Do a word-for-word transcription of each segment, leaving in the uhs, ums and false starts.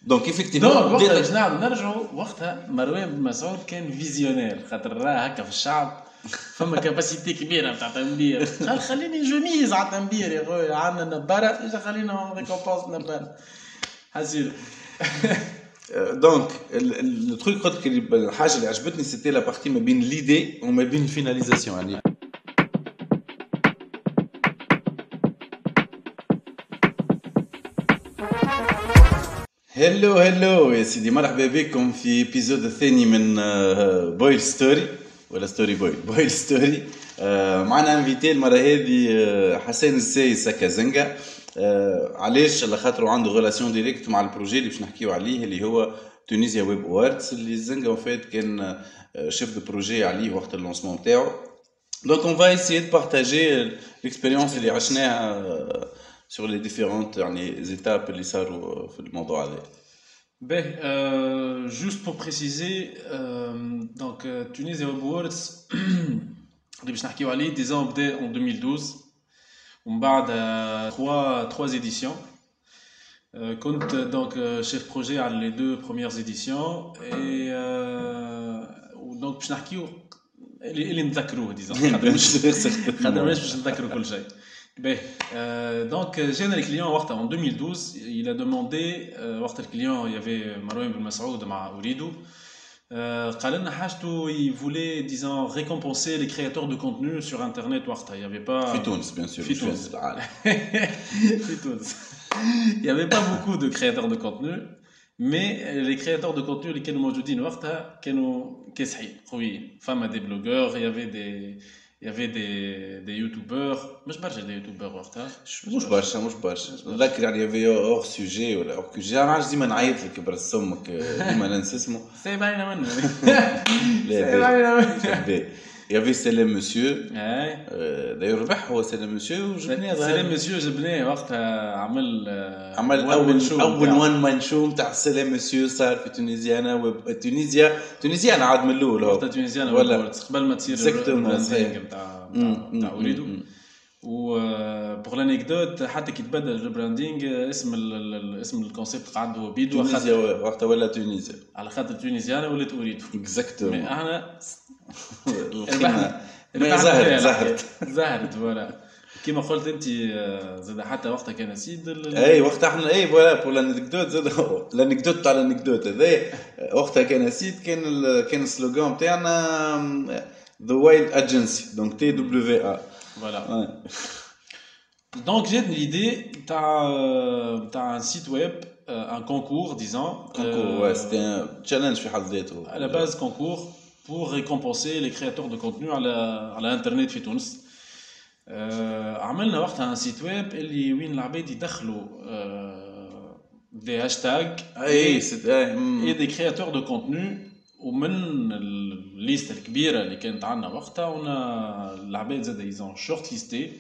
دونك ايفيكتيفمون دونك وقتها باش نعاودو نرجعوا وقتها مروان بن مسعود كان فيزيونير خاطر راه هكا في الشعب فما كاباسيتي كبيره نتاع تنبير قال خليني جميز على التنبير يا خويا عندنا نباره اجا خلينا ريكومبونس نباره حسير. دونك التروك قلت لك الحاجه اللي عجبتني سيتي لا بارتي ما بين ليدي وما بين الفيناليزاسيون يعني. هلو هلو يا سيدي، مرحبا بكم في ابيزود الثاني من بويل ستوري ولا ستوري بويل بويل ستوري. معنا انفيتي المره هذه حسين السايس كازنجا. علاش؟ على خاطر عنده ريلاسيون ديريكت مع البروجي اللي باش نحكيو عليه اللي هو تونيزيا ويب اووردز اللي زنجا وفات كان شيف دو بروجي عليه وقت اللونسمون تاعو. دونك اون فا ايسيي دو بارطاجي ليكسبيريونس اللي عشناها sur les différentes يعني étapes اللي صاروا في الموضوع هذا. Ben, euh, juste pour préciser, euh, donc euh, Tunisia Web Awards, اللي باش نحكيو عليه ديزون بدا en deux mille douze ومن بعد trois trois éditions. Euh, كنت donc chef projet على les deux premières éditions et euh, donc باش نحكيو اللي اللي نتذكروه ديزون خاطر مش خاطر مش باش نتذكروا كل شيء. Ben, euh, donc j'ai un client en deux mille douze, il a demandé وقت الكليون il y avait مروان بن مسعود مع أوريدو قال لنا حاجته il voulait disons récompenser les créateurs de contenu sur internet وقتها il y avait pas في تونس bien sûr في تونس في تونس il y avait pas beaucoup de créateurs de contenu mais les créateurs de contenu اللي كانوا موجودين وقتها كانوا كاسحين قويين. فما des blogueurs, il y avait des il y avait des des youtubeurs مش برشا des youtubeurs وقتها مش برشا مش برشا نذكر يعني يافي اور سوجي ولا اور كوجي انا عايز ديما نعيط لك برس امك ديما ننسى اسمه سي باينه منه سي باينه منه يافي سلام مسيو اي داير ربح هو سلام مسيو وجبناه سلام مسيو جبناه وقتها عمل عمل اول اول وان مان شو نتاع سلام مسيو صار في تونيزيا. انا تونيزيا تونيزيا انا عاد من الاول هو تونيزيا ولا قبل ما تصير البراندينغ نتاع نتاع أوريدو. و بور لانيكدوت حتى كي تبدل البراندينغ اسم اسم الكونسيبت قعد هو بيدو تونيزيا وقتها ولا تونيزيا على خاطر تونيزيانا ولات أوريدو اكزاكتومون. احنا ربحنا زهرت زهرت زهرت ولا كيما قلت انت زاد حتى وقتها كان سيد اي وقتها احنا اي فوالا بور لانيكدوت زاد لانيكدوت تاع لانيكدوت هذا وقتها كان سيد كان كان السلوغان تاعنا ذا وايلد اجنسي دونك تي دبليو ا فوالا. دونك جاتني ليدي تاع تاع ان سيت ويب ان كونكور ديزون كونكور سيتي ان تشالنج في حد ذاته على باز كونكور pour récompenser les créateurs de contenu على على الانترنت في تونس. آه عملنا وقتها ان سيت ويب اللي وين العباد يدخلوا آه دي هاشتاغ اي سيتي اي دي كرياتور دو كونتنو ومن الليست الكبيره اللي كانت عندنا وقتها ونا العباد زاد يزون شورت ليستي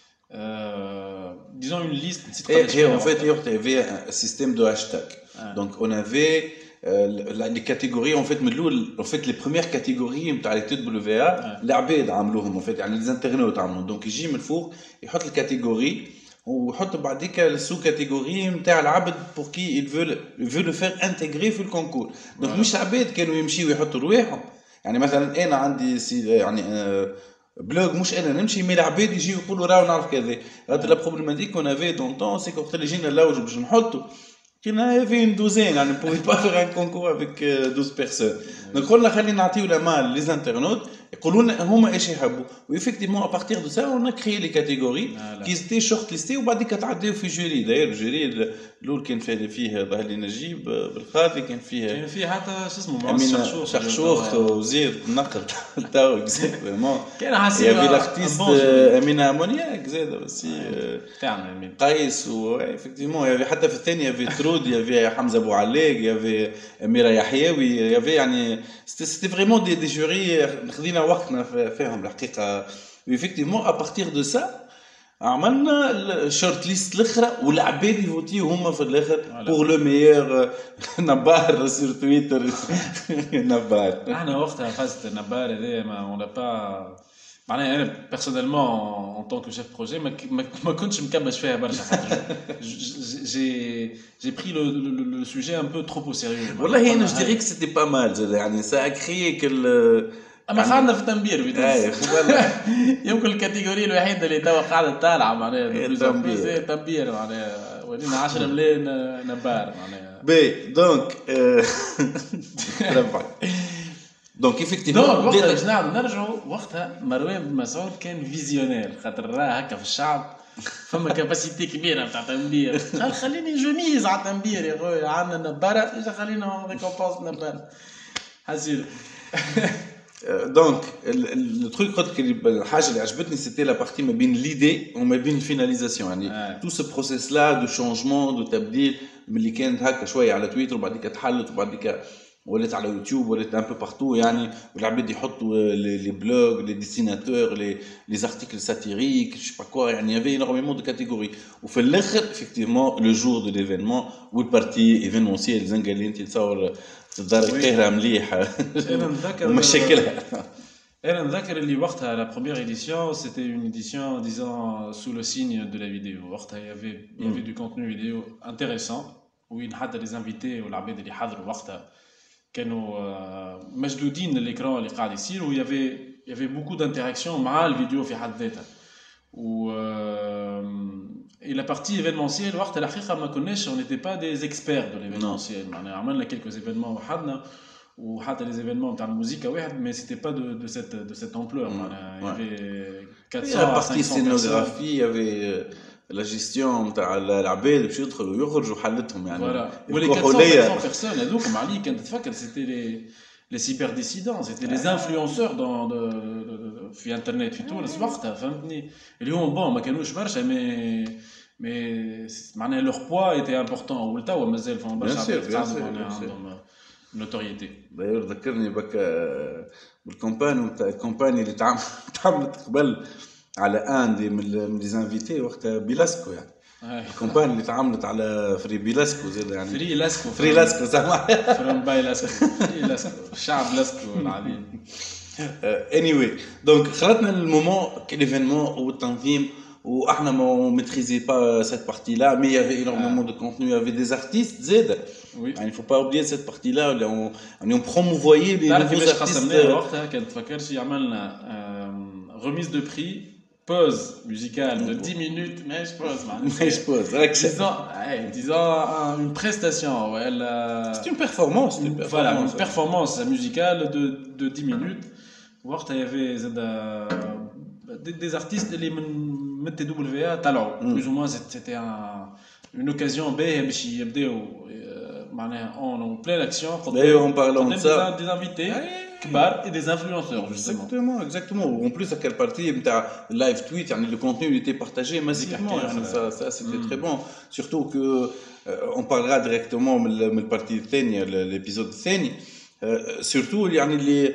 ديزون اون ليست نسيت قداش هي en fait il y avait un système de hashtag donc on avait les catégories en fait من الاول en fait les premières catégories نتاع لي تي دبليو ا العباد عملوهم en fait يعني لي انترنت عملوهم دونك يجي من الفوق يحط الكاتيجوري ويحط بعديك السو كاتيجوري نتاع العبد بور كي il veut il veut le faire intégrer في الكونكور. دونك مش العباد كانوا يمشيوا يحطوا رواحهم يعني مثلا انا عندي سي يعني بلوغ مش انا نمشي مي العباد يجيو يقولوا راهو نعرف كذا. هذا لا بروبليماتيك كون افي دون طون سي وقت اللي جينا نلوجوا باش نحطوا كنا في une douzaine يعني on pouvait pas faire un concours avec douze personnes. donc قلنا خلينا نعطيو لا مال لي انترنت يقولوا لنا هما ايش يحبوا وإفكتيمون à partir de ça on a créé les catégories qui étaient shortlistées وبعديك تعديو في جوري. داير الجوري الاول كان فيه فيه ظهر لي نجيب بالخاطي كان فيه كان فيه حتى شو اسمه معصر شخشوخ شخشوخ وزير النقل تاعو اكزاكتومون كان حاسب يا في لاختيست امينه امونياك زاد بس تاعنا امين قيس وإفكتيمون يا حتى في الثانيه في ترود يا في حمزه ابو علاق يا في اميره يحيوي يا في يعني سيتي فريمون دي دي جوري خدينا وقتنا فيهم الحقيقه. وإفكتيمون à partir de ça عملنا الشورت ليست الاخرى والعباد يفوتيو هما في الاخر بور لو ميور نبار سور تويتر نبار. احنا وقتها فازت النبار هذا ما اون با معناها انا بيرسونيلمون ان طونك شيف بروجي ما ما ما كنتش مكبش فيها برشا خاطر جي جي بري لو لو سوجي ان بو ترو او سيريو. والله انا جو ديري كو سيتي با مال يعني سا كريي كل اما خلنا في التنبير في اي يمكن الكاتيجوري الوحيده اللي توا قاعده طالعه معناها التنبير التنبير معناها ولينا عشرة ملايين نبار معناها بي دونك ربعك دونك ايفيكتيفمون وقتها باش نعاودو نرجعوا وقتها مروان بن مسعود كان فيزيونير خاطر راه هكا في الشعب فما كاباسيتي كبيره تاع تنبير قال خليني جميز على التنبير يا خويا عندنا نباره اجا خلينا ريكومبونس نبار حسير. دونك التروك قلت الحاجه اللي عجبتني سيتي لا بارتي ما بين ليدي وما بين الفيناليزاسيون يعني تو سو بروسيس لا دو شونجمون دو تبديل ملي كانت هكا شويه على تويتر وبعديك تحلت وبعديك ولات على يوتيوب ولات ان بو بارتو يعني والعباد يحطوا لي بلوغ لي ديسيناتور لي لي ارتيكل ساتيريك جو با كوا يعني يافي اينورميمون دو كاتيجوري وفي الاخر افكتيفمون لو جور دو ليفينمون والبارتي ايفينمونسيال زنقه اللي انت تصور تدار القاهره مليح انا نتذكر ومشكلها. انا نتذكر اللي وقتها لا بروميير édition c'était une édition disons sous le signe de la vidéo وقتها il y avait il y avait du contenu vidéo intéressant وين حتى les invités والعباد اللي حضروا وقتها كانوا مشدودين للاكران اللي قاعد يصير و يافي يافي بوكو دانتيراكسيون مع الفيديو في حد ذاتها و اي لا بارتي ايفينمونسيال وقت الحقيقه ما كناش اون نيتي با دي اكسبير دو ليفينمونسيال معناها عملنا كيلكو ايفينمون وحدنا وحتى لي ايفينمون تاع الموسيقى واحد مي سيتي با دو دو سيت دو سيت امبلور معناها يافي أربعمية بارتي سينوغرافي يافي لا جيستيون تاع العباد باش يدخلوا ويخرجوا حلتهم يعني فوالا ولي أربعمية بيرسون هذوك عليك كنت تفكر سيتي لي لي سيبر ديسيدون سيتي لي انفلونسور دون في انترنت في تونس وقتها فهمتني اليوم بون ما كانوش برشا مي مي معناها لوغ بوا ايتي امبورطون ولتوا مازال فما برشا عباد قاعدين عندهم نوتوريتي. داير ذكرني بك بالكومباني نتاع الكومباني اللي تعملت قبل على ان دي من لي زانفيتي وقتها بيلاسكو يعني الكومباني اللي تعاملت على فري بيلاسكو زاد يعني فري لاسكو فري لاسكو زعما فري باي لاسكو فري لاسكو الشعب لاسكو العظيم. اني واي دونك خلطنا المومون كليفينمون والتنظيم واحنا ما ميتريزي با سيت بارتي لا مي يافي اينورمون دو كونتوني يافي دي ارتيست زاد يعني فو با اوبليي سيت بارتي لا اللي اون اون بروموفويي لي نوفو ارتيست. وقتها كنت فكرت عملنا remise de prix pause musicale de dix minutes mais je pose mais je pose disons disons une prestation elle c'est une performance voilà une performance musicale de de dix minutes وقتها il y avait des, des artistes اللي من T W A طلعوا plus ou moins c'était un une occasion باهيه باش يبداو معناها en pleine action d'ailleurs on parle de ça des invités كبار et des influenceurs justement. Exactement, exactement. En plus à quelle partie نتاع live tweet يعني le contenu il était partagé massivement يعني ça ça c'était très bon surtout que on parlera directement من البارتي الثانيه الابيزود الثاني surtout يعني اللي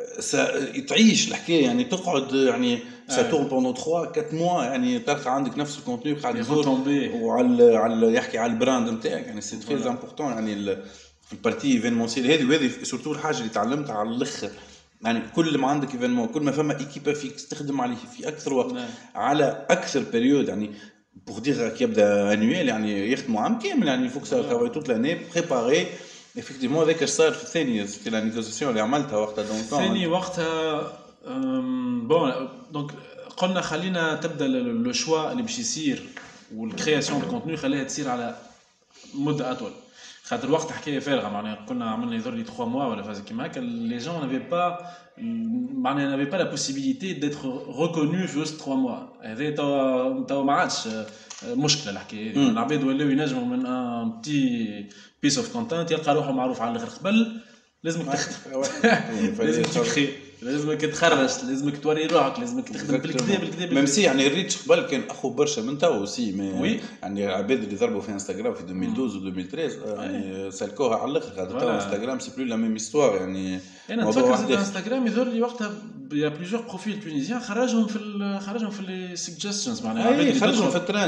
تعيش الحكايه يعني تقعد يعني ça tourne pendant trois quatre mois يعني تلقى عندك نفس الكونتوني قاعد يزور وعلى على يحكي على البراند نتاعك يعني سي تري امبورطون يعني في البارتي ايفينمونسيال هذه وهذه سورتو الحاجه اللي تعلمتها على الاخر يعني كل ما عندك ايفينمون كل ما فما ايكيبا فيك تخدم عليه في اكثر وقت على اكثر بيريود يعني بور دير كي يبدا انويل يعني يخدموا عام كامل يعني فوك سا ترافاي توت لاني بريباري افكتيفمون هذاك صار في الثانيه سيتي لا نيغوسياسيون اللي عملتها وقتها دونك ثاني وقتها بون دونك قلنا خلينا تبدا لو شوا اللي باش يصير والكرياسيون دو كونتوني خليها تصير على مده اطول خاطر الوقت حكايه فارغه معناها كنا عملنا يظهر لي ثلاثة موا ولا فاز كيما هكا لي جون نافي با معناها نافي با لا بوسيبيليتي ديتر ريكونو في وسط ثلاثة موا هذا توا توا ما عادش مشكله الحكايه هذه العباد ولاو ينجموا من ان بتي بيس اوف كونتنت يلقى روحه معروف على الاخر قبل لازمك تخدم لازم تخي لازمك تخرج لازمك توري روحك لازمك تخدم بالكدا بالكدا ميم سي يعني الريتش قبل كان اخو برشا من تو سي مي يعني العباد اللي ضربوا في انستغرام في ألفين واثناشر و ألفين وثلاثة عشر يعني سالكوها على الاخر خاطر تو انستغرام سي بلو لا ميم استوار يعني انا نتفكر في انستغرام يظهر لي وقتها يا بليزيور بروفيل تونيزيان خرجهم في خرجهم في لي سجستشنز معناها خرجهم في الترندز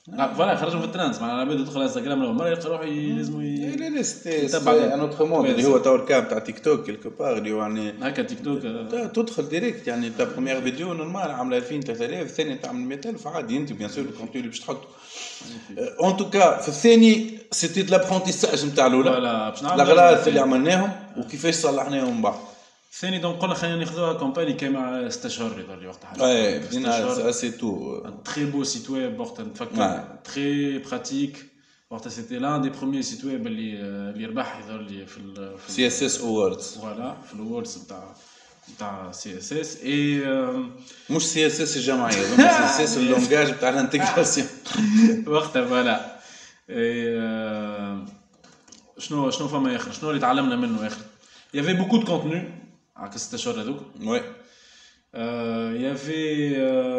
فوالا خرجوا في الترانس معناها العباد يدخل انستغرام اول مره يلقى روحه لازم لا لا سيتي ان اوتر موند اللي هو تو الكاب تاع تيك توك كيلكو باغ اللي يعني هكا تيك توك تدخل ديريكت يعني تا بروميير فيديو نورمال عامله ألفين ثلاثة آلاف الثانيه تعمل مئة ألف عادي انت بيان سور الكونتوني اللي باش تحطه ان توكا في الثاني سيتي لابرونتيساج نتاع الاولى الاغلاط اللي عملناهم وكيفاش صلحناهم من بعد الثاني دونك قلنا خلينا ناخذوها كومباني كيما ستة اشهر يظهر لي وقتها اي بدينا سي تو تري بو سيت ويب وقتها نتفكر تري براتيك وقتها سيتي لان دي بروميير سيت ويب اللي اللي ربح يظهر لي في سي اس اس اووردز فوالا في الاووردز نتاع نتاع سي اس اس اي مش سي اس اس الجمعيه سي اس اس اللونجاج نتاع الانتجراسيون وقتها فوالا شنو شنو فما اخر شنو اللي تعلمنا منه اخر il y avait beaucoup de contenu à cette اشهر هذوك ouais euh il y avait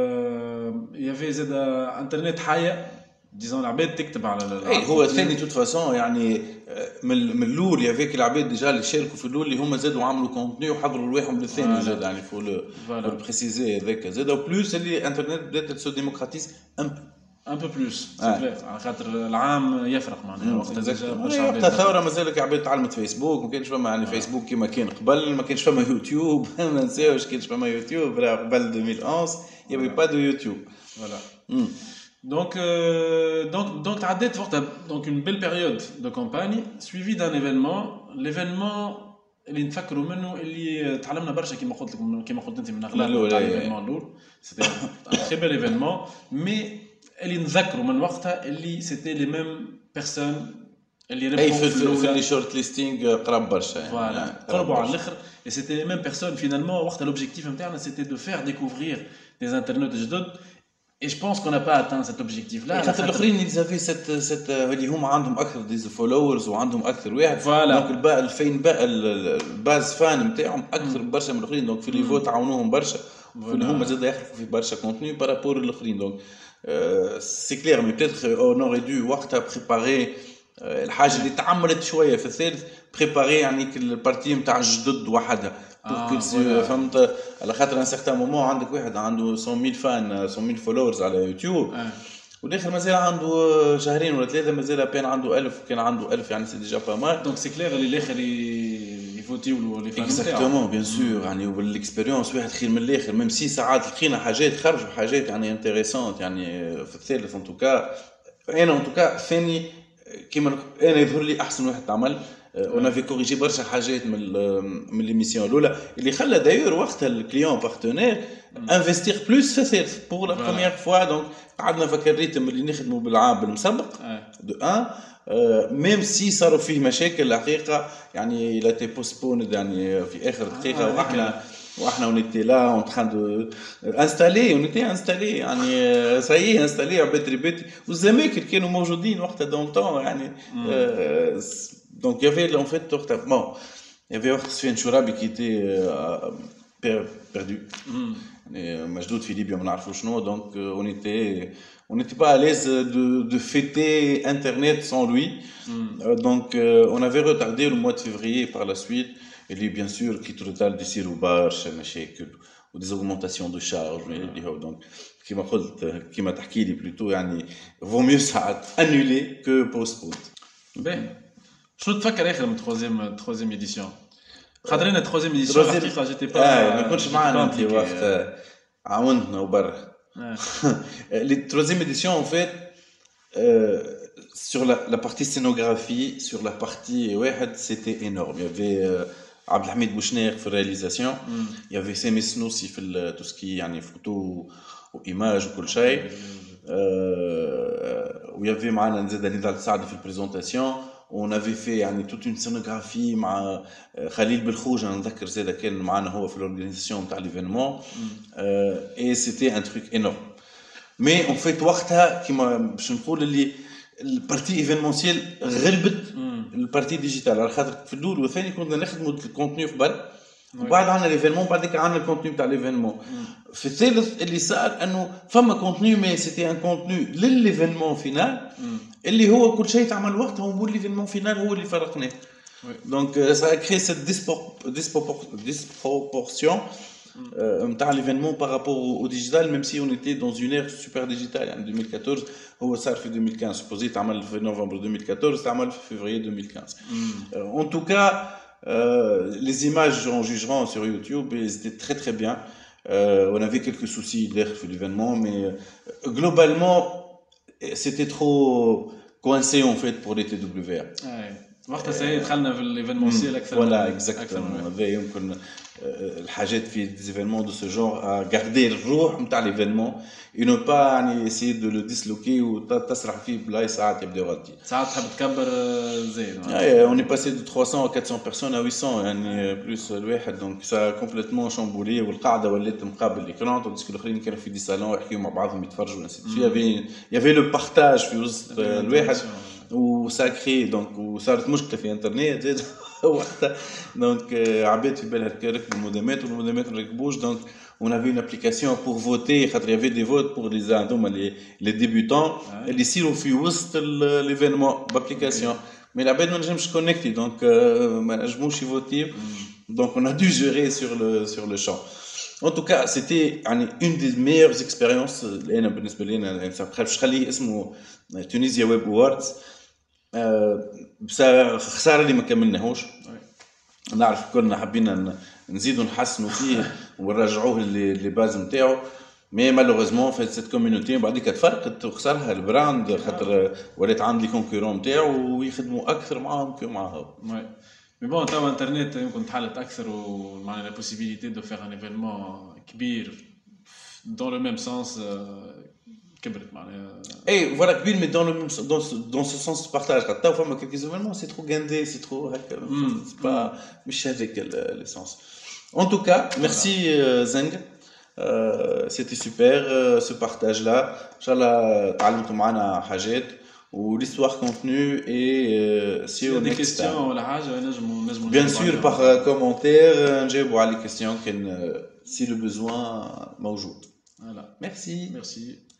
euh, il y avait زاد انترنت حيه ديزون العباد تكتب على اي هو الثاني توت فاسون يعني من من الاول يافيك العباد ديجا اللي شاركوا في الاول اللي هما زادوا عملوا كونتوني وحضروا رواحهم للثاني زاد يعني فو لو بريسيزي هذاك زاد او بلوس اللي انترنت بدات تسو ديموكراتيز ان ان بو بلوس سي كلير على خاطر العام يفرق معناها وقتها ديجا وقتها الثوره مازالك عباد تعلمت فيسبوك ما كانش فما يعني فيسبوك كيما كان قبل ما كانش فما يوتيوب ما ننساوش كانش فما يوتيوب قبل ألفين وإحدى عشر يبي با دو يوتيوب فوالا Donc, euh, donc, donc, donc une belle période de campagne suivie d'un événement. L'événement, اللي نفكروا منه اللي تعلمنا برشا كما قلت لكم كما قلت انت من اغلب تاع الايفينمون الاول سيتي ان تري بيل ايفينمون مي اللي نذكروا من وقتها اللي سيتي لي ميم بيرسون اللي ربحوا في, في, في لي شورت ليستينغ قراب برشا فوالا قربوا على الاخر et c'était les mêmes personnes finalement وقتها l'objectif نتاعنا c'était de faire découvrir des internautes جدد. Et je pense qu'on n'a pas atteint cet objectif-là. خاطر الاخرين اللي زافي ست ست اللي هما عندهم اكثر ديز فولورز وعندهم اكثر واحد دونك الباء الفين باء الباز فان نتاعهم اكثر برشا من الاخرين دونك في لي فوت عاونوهم برشا اللي هما زاد يخلقوا في برشا كونتوني بارابور الاخرين دونك سي كلير مي بيتر اون اوري دو وقتها بريباري الحاجه اللي تعملت شويه في الثالث بريباري يعني البارتي نتاع الجدد وحدها بور كو فهمت على خاطر ان سيغتان مومون عندك واحد عنده مئة ألف فان مئة ألف فولورز على يوتيوب والاخر مازال عنده شهرين ولا ثلاثه مازال بين عنده ألف كان عنده ألف يعني سي ديجا با مال دونك سي كلير اللي الاخر يفوتيو لي فان اكزاكتومون بيان سور يعني وبالاكسبيريونس واحد خير من الاخر ميم سي ساعات لقينا حاجات خرجوا حاجات يعني انتريسونت يعني في الثالث ان توكا انا ان توكا ثاني كيما انا يظهر لي احسن واحد تعمل on avait corrigé برشا حاجات من من ليميسيون الاولى اللي خلى دايور وقتها الكليون بارتنير انفستير بلوس في الثالث بور لا بروميير فوا دونك قعدنا فكر الريتم اللي نخدموا بالعام بالمسبق دو ان ميم سي صاروا فيه مشاكل الحقيقه يعني لا تي بوستبون يعني في اخر دقيقه واحنا واحنا ونيتي لا اون تران دو انستالي ونيتي انستالي يعني سايي انستالي عباد ريبيتي والزماكر كانوا موجودين وقتها دون طون يعني donc il y avait en fait bon il y avait Sven Chourabi qui était euh, perdu et Majdoud Philippe on n'arrive pas donc euh, on était on n'était pas à l'aise de de fêter internet sans lui mm. euh, donc euh, on avait retardé le mois de février par la suite et lui bien sûr qui retarde des sirobarch مشاكل ou des augmentations de charges mm. donc كما قلت كما تحكي لي plutôt يعني vaut mieux ساعات annuler que postpone ben شنو تفكر اخر من تروزيام تروزيام ايديسيون خاطر انا تروزيام ايديسيون الحقيقه جيتي با اه ما كنتش معنا انت وقت عاونتنا وبرا لي تروزيام ايديسيون ان فيت sur la la partie scénographie sur la partie واحد c'était énorme il y avait عبد الحميد بوشنير في الرياليزاسيون il y avait سامي السنوسي في tout ce qui يعني فوتو وايماج وكل شيء و il y avait معنا زاد نضال سعد في البريزونطاسيون on avait fait يعني toute une scénographie مع خليل بالخوج انا نذكر زاد كان معنا هو في الاورغانيزاسيون تاع ليفينمون اي سيتي ان تروك انورم مي اون فيت وقتها كيما باش نقول اللي البارتي ايفينمونسيال غلبت البارتي ديجيتال على خاطر في الاول والثاني كنا نخدموا الكونتوني قبل وبعد عندنا ليفينمون بعدك عندنا الكونتوني تاع ليفينمون في الثالث اللي صار انه فما كونتوني مي سيتي ان كونتوني للليفينمون فينال اللي هو كل شيء تعمل وقتها ونقول ليفينمون فينال هو اللي فرقناه دونك سا كري سيت ديسبروبورسيون نتاع ليفينمون بارابور au digital, même si on était dans une ère super digitale. En deux mille quatorze هو صار في deux mille quinze, supposé تعمل في نوفمبر deux mille quatorze, تعمل في février deux mille quinze. Euh, en tout cas, euh, les images en jugeront sur YouTube et c'était très très bien. Euh, on avait quelques soucis d'air sur l'événement, mais euh, globalement, c'était trop coincé en fait pour les T W A. Ouais. وقتها سي دخلنا في الايفينمونسيال اكثر. فوالا اكزاكتومون هذا يمكن الحاجات في ديزيفينمون دو سو جونغ غاردي الروح نتاع ليفينمون اي نو با يعني سي دو لو ديسلوكي وتسرح فيه بلاي ساعات يبداو غادي ساعات تحب تكبر زين. اي اون اي باسي دو trois cents à quatre cents بيرسون à huit cents يعني بلوس الواحد دونك سا كومبليتمون شامبولي والقاعده ولات مقابل الاكران تونس الاخرين كانوا في دي سالون يحكيوا مع بعضهم يتفرجوا يافي يافي لو بارتاج في وسط الواحد وساكري دونك وصارت مشكله في انترنت زاد وقتها دونك عباد في بالها ركبوا المودمات والمودمات ما ركبوش دونك on avait une application pour voter خاطر il y avait des votes pour les هذوما les les débutants اللي يصيروا في وسط l'événement بابليكاسيون mais العباد ما نجمش كونيكتي دونك ما نجموش يفوتي donc on a dû gérer sur le sur le champ. En tout cas, c'était une des meilleures expériences لأنا بالنسبة لي أنا باش نخليه اسمه تونيزيا ويب ووردز. بس خساره اللي ما كملناهوش. نعرف كنا حبينا نزيدوا نحسنوا فيه ونرجعوه لي باز نتاعو مي مالوغوزمون في سيت كوميونيتي بعديك تفرقت وخسرها البراند خاطر ولات عندي كونكورون نتاعو ويخدموا اكثر معاهم كيما معاهم. وي مي بون توا انترنت يمكن تحلت اكثر ومعناها لا بوسيبيليتي دو فيغ ان ايفينمون كبير دون لو ميم سونس كبرت معناها. اي فوالا كبير مي دون لو دون دون سو سونس دو بارتاج خاطر تو فما كيلكو ايفينمون سي ترو غاندي سي ترو هكا سي با مش هذاك ليسونس. En tout cas, merci euh, Zeng. Euh, c'était super euh, ce partage-là. Inch'Allah, تعلمتوا معنا حاجات و l'histoire continue et euh, si on a des questions ولا حاجة نجموا نجموا bien sûr par euh, commentaire نجاوبوا على les questions كان si le besoin موجود. Voilà. Merci. Merci.